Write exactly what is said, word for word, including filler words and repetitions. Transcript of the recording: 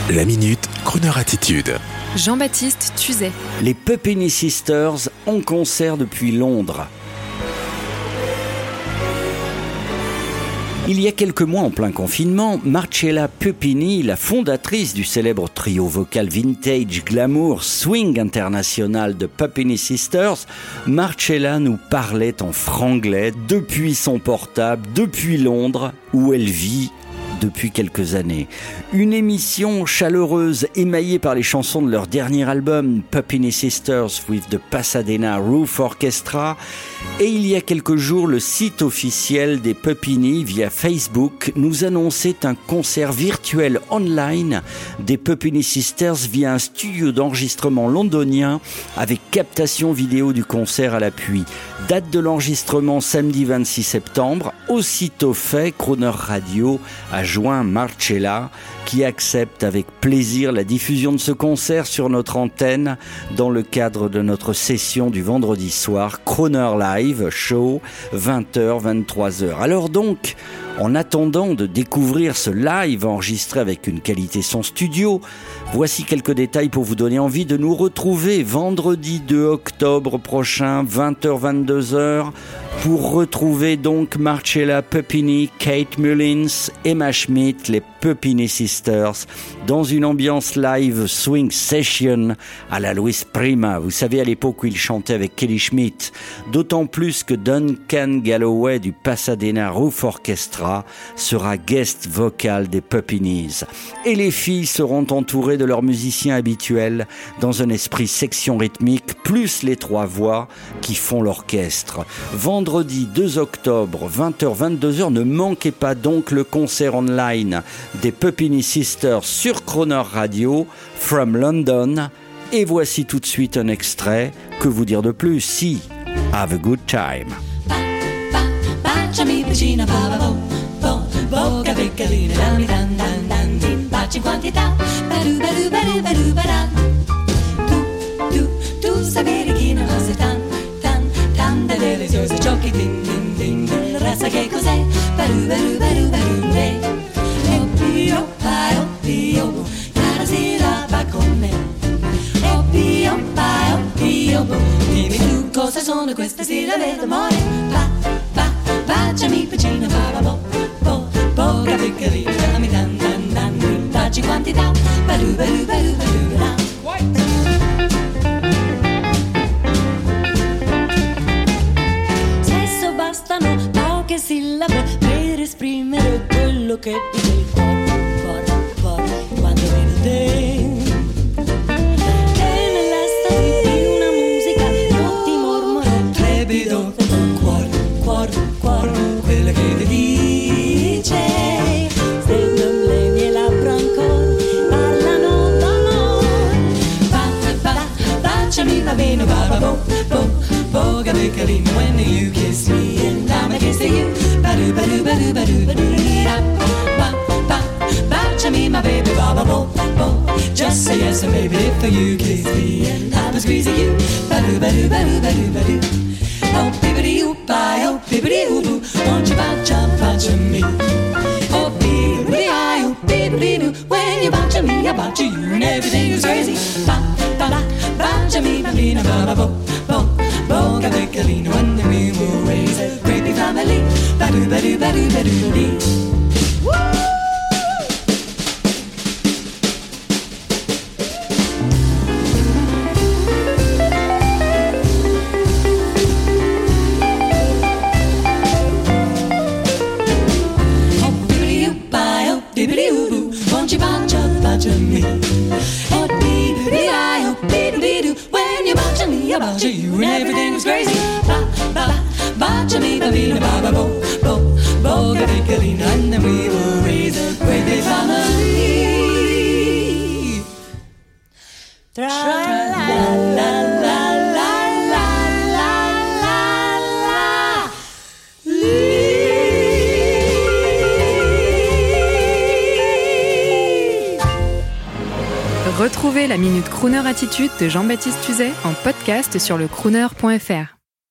La Minute Crooner Attitude. Jean-Baptiste Tuzet. Les Puppini Sisters en concert depuis Londres. Il y a quelques mois, en plein confinement, Marcella Puppini, la fondatrice du célèbre trio vocal vintage glamour swing international de Puppini Sisters, Marcella nous parlait en franglais depuis son portable, depuis Londres, où elle vit depuis quelques années. Une émission chaleureuse émaillée par les chansons de leur dernier album Puppini Sisters with the Pasadena Roof Orchestra, et il y a quelques jours le site officiel des Puppini via Facebook nous annonçait un concert virtuel online des Puppini Sisters via un studio d'enregistrement londonien avec captation vidéo du concert à l'appui. Date de l'enregistrement samedi vingt-six septembre. Aussitôt fait, Crooner Radio a joint Marcella, qui accepte avec plaisir la diffusion de ce concert sur notre antenne dans le cadre de notre session du vendredi soir Crooner Live Show, vingt heures vingt-trois heures. Alors donc, en attendant de découvrir ce live enregistré avec une qualité son studio, voici quelques détails pour vous donner envie de nous retrouver vendredi deux octobre prochain, vingt heures vingt-deux heures, pour retrouver donc Marcella Puppini, Kate Mullins, Emma Schmidt, les Puppini Sisters, dans une ambiance live swing session à la Louis Prima. Vous savez, à l'époque où ils chantaient avec Kelly Schmidt. D'autant plus que Duncan Galloway du Pasadena Roof Orchestra sera guest vocal des Puppinis. Et les filles seront entourées de leurs musiciens habituels dans un esprit section rythmique, plus les trois voix qui font l'orchestre. Vendredi deux octobre, vingt heures vingt-deux heures, ne manquez pas donc le concert online des Puppini Sisters sur Crooner Radio, from London. Et voici tout de suite un extrait. Que vous dire de plus? Si, have a good time. Deliziosi giochi din din din din, resta che cos'è? Baru baru baru baru re. Oh pio, pai, oh pio, cara sera va con me. Oh pio, pai, oh pio, dimmi tu cosa sono queste sillabe d'amore. Va, va, baciami vicino, va, va, bo, bo, poca piccolina, dammi dan dan dan, dacci quantità. Baru baru baru baru ra. Poche sillabe per esprimere quello che dice il cuore, cuore, cuore, quando vedo te. E nell'estasi di una musica io ti mormoro trepido, cuore, cuore, cuore, quello che ti dice. Se non le mie labbra ancora parlano d'amore, va, va, baciami, va bene, va, va, bo, bo, poca piccolina, when you kiss me and I'm a kiss to you. Ba-do, ba-do, ba-do, ba-do, ba-do, da. Ba, ba, baciami, my baby, ba, ba, bo, bo. Just say yes, and baby, if you kiss me and I'm a squeeze of you. Ba-do, ba-do, ba-do, ba-do, ba-do. Oh, bibbidi-oo, bye, oh, bibbidi-oo-boo, won't you bacia, bacia me? Oh, bibbidi-I, oh, bibbidi-doo, when you bacia me, I bacia you, and everything is crazy. Ba, ba, ba, baciami, bambina, ba, ba, bo, bo. Boca piccolina, when we will raise a great big family. Ba-do, ba-do, ba-do, ba-do, dee. Oh, bibbidi-oo, bye, oh, bibbidi-oo-boo, won't you bacia, bacia me? Oh, bibbidi-I, oh, bibbidi-doo, when you bacia me, I bacia you, and everything is crazy. Ba, ba, ba, bacia me, bambina, ba, ba, bo, bo, boca piccolina, and then we will raise a great big family. Tra la la la la la la la la. Retrouvez la Minute Crooner Attitude de Jean-Baptiste Tuzet en podcast sur le crooner point f r.